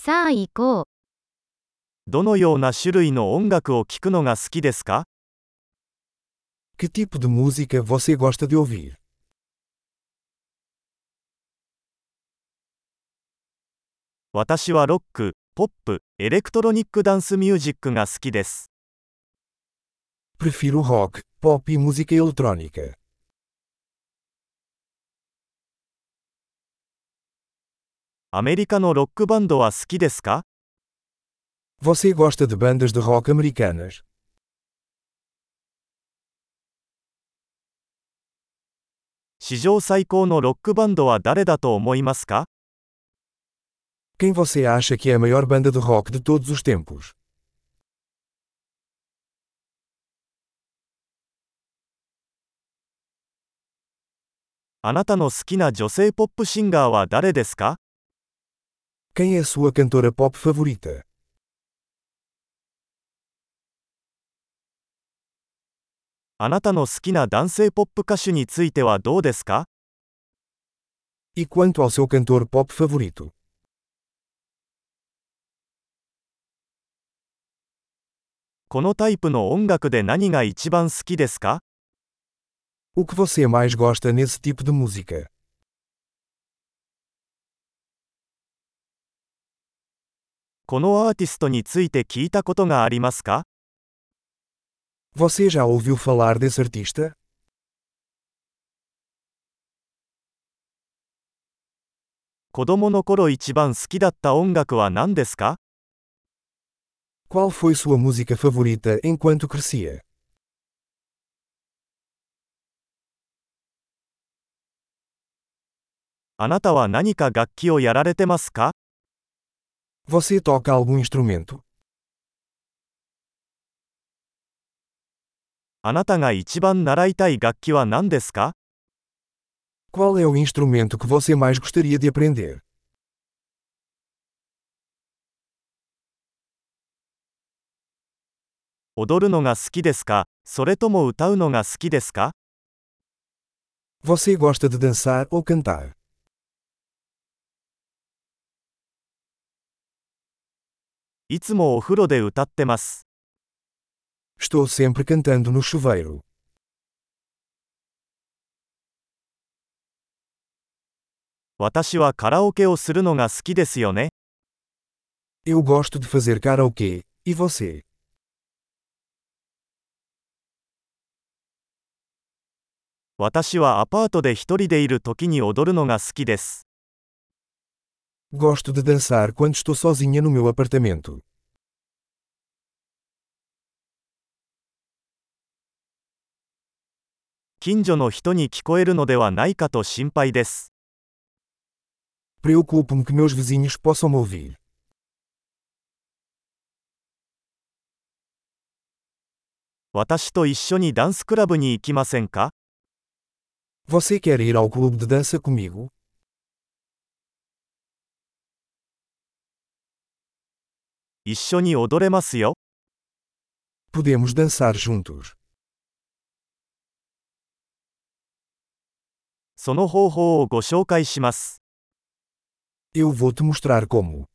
さあ行こう。 どのような種類の音楽を聴くのが好きですか？ Que tipo de música você gosta de ouvir? 私はロック、ポップ、エレクトロニックダンスミュージックが好きです。 Prefiro rock, pop e música eletrônica. アメリカのロックバンドは好きですか？ Você gosta de bandas de rock americanas? 史上最高のロックバンドは誰だと思いますか？ Quem você acha que é a maior banda de rock de todos os tempos? あなたの好きな女性ポップシンガーは誰ですか？ Quem é a sua cantora pop favorita? あなたの好きな男性ポップ歌手についてはどうですか？ E quanto ao seu cantor pop favorito? このタイプの音楽で何が一番好きですか？ O que você mais gosta nesse tipo de música? このアーティストについて聞いたことがありますか？ Você já ouviu falar desse artista? 子供の頃一番好きだった音楽は何ですか？ Qual foi sua música favorita enquanto crescia? あなたは何か楽器をやられてますか？ Você toca algum instrumento? あなたが一番習いたい楽器は何ですか？ Qual é o instrumento que você mais gostaria de aprender? 踊るのが好きですか？それとも歌うのが好きですか？ Você gosta de dançar ou cantar? いつもお風呂で歌ってます。 Estou sempre cantando no chuveiro. 私はカラオケをするのが好きですよね。 Eu gosto de fazer karaokê. E você? 私はアパートで一人でいる時に踊るのが好きです。 Gosto de dançar quando estou sozinha no meu apartamento. 近所の人に聞こえるのではないかと心配です。 Preocupo-me que meus vizinhos possam me ouvir. 私と一緒にダンスクラブに行きませんか？ Você quer ir ao clube de dança comigo? 一緒に踊れますよ。 Podemos dançar juntos. その方法をご紹介します。 Eu vou te mostrar como.